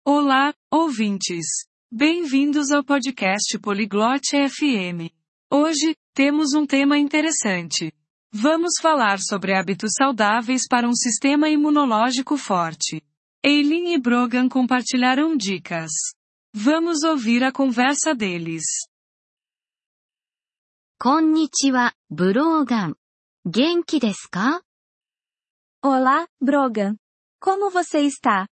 Olá, ouvintes. Bem-vindos ao podcast Poliglote FM. Hoje, temos um tema interessante. Vamos falar sobre hábitos saudáveis para um sistema imunológico forte. Eileen e Brogan compartilharam dicas. Vamos ouvir a conversa deles. こんにちは、ブローガン。元気ですか? Olá, Brogan. Como você está?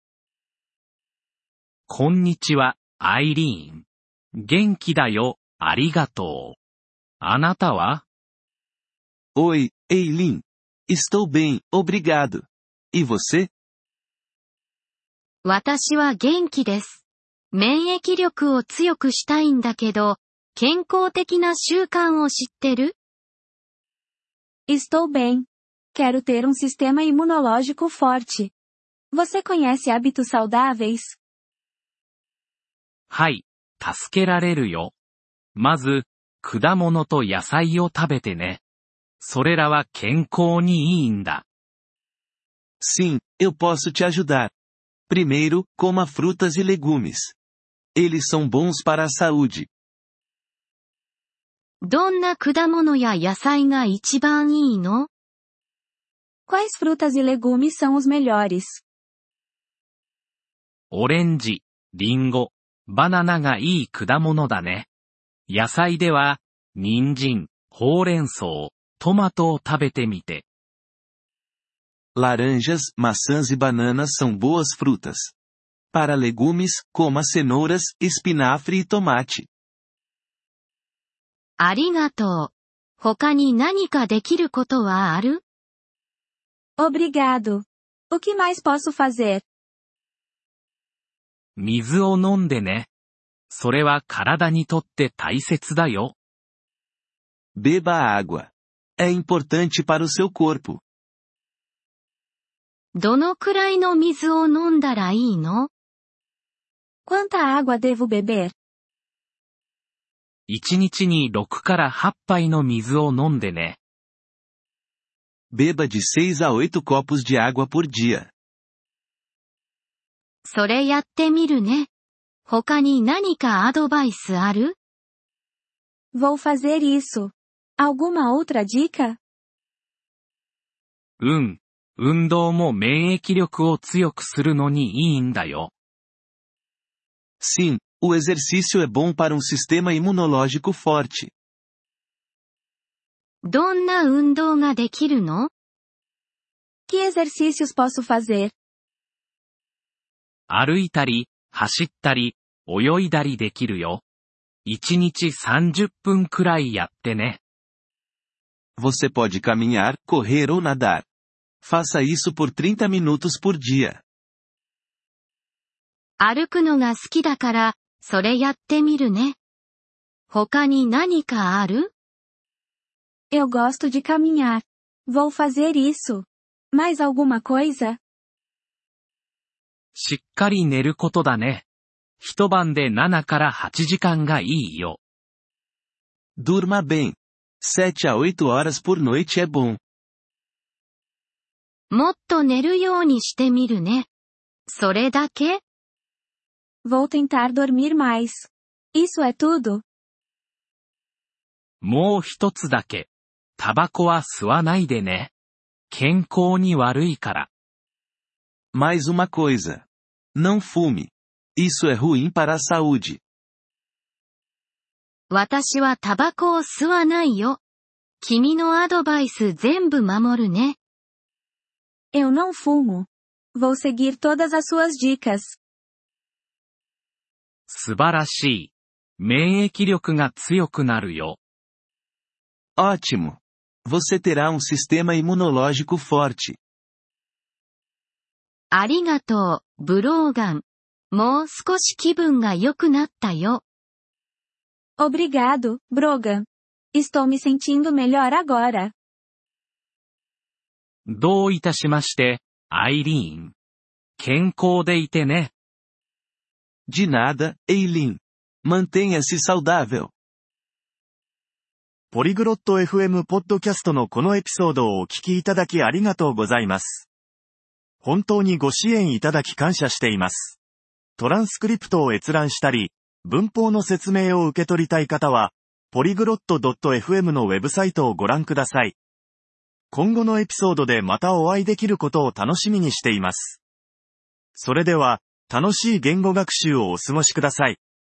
こんにちは、アイリーン。元気だよ、ありがとう。あなたは? Oi, Eileen. Estou bem, obrigado. E você? 私は元気です。免疫力を強くしたいんだけど、健康的な習慣を知ってる? Estou bem. Quero ter um sistema imunológico forte. Você conhece hábitos saudáveis? はい、助けられるよ。まず、果物と野菜を食べてね。それらは健康にいいんだ。 Sim, eu posso te ajudar. Primeiro, coma frutas e legumes. Eles são bons para a saúde. どんな果物や野菜が一番いいの? Quais frutas e legumes são os melhores? オレンジ、リンゴ、バナナがいい果物だね。野菜では、人参、ほうれん草、トマトを食べてみて。 Laranjas, maçãs e bananas são boas frutas. Para legumes, coma cenouras, espinafre e tomate. ありがとう。他に何かできることはある? Obrigado. O que mais posso fazer? 水を飲んでね。それは体にとって大切だよ。 Beba água. É importante para o seu corpo. どのくらいの水を飲んだらいいの? Quanta água devo beber? 1日に6から8杯の水を飲んでね。 Beba de 6 a 8 copos de água por dia. それやってみるね。他に何かアドバイスある? Vou fazer isso. Alguma outra dica? 運動も免疫力を強くするのにいいんだよ。 Sim, o exercício é bom para um sistema imunológico forte. どんな運動ができるの? Que exercícios posso fazer? 歩いたり、走ったり、泳いだりできるよ。1日30分くらいやってね。 Você pode caminhar, correr ou nadar. Faça isso por 30 minutos por dia. 歩くのが好きだから、それやってみるね。他に何かある? Eu gosto de caminhar. Vou fazer isso. Mais alguma coisa? しっかり寝ることだね。一晩で7から8時間がいいよ。 Durma bem. 7 a 8 horas por noite é bom. もっと寝るようにしてみるね。それだけ? Vou tentar dormir mais. Isso é tudo? もう一つだけ。タバコは吸わないでね。健康に悪いから。 Mais uma coisa. Não fume. Isso é ruim para a saúde. 私はタバコを吸わないよ。君のアドバイス全部守るね。 Eu não fumo. Vou seguir todas as suas dicas. 素晴らしい。免疫力が強くなるよ。 Ótimo. Você terá um sistema imunológico forte. ありがとう、ブローガン。もう少し気分が良くなったよ。 Obrigado, Brogan. Estou me sentindo melhor agora. どういたしまして、アイリーン。健康でいてね。 De nada, Eileen. Mantenha-se saudável. ポリグロット FM ポッドキャストのこのエピソードをお聞きいただきありがとうございます。本当にご支援いただき感謝しています。 トランスクリプトを閲覧したり、文法の説明を受け取りたい方は、polyglot.fm のウェブサイトをご覧ください。今後のエピソードでまたお会いできることを楽しみにしています。それでは、楽しい言語学習をお過ごしください。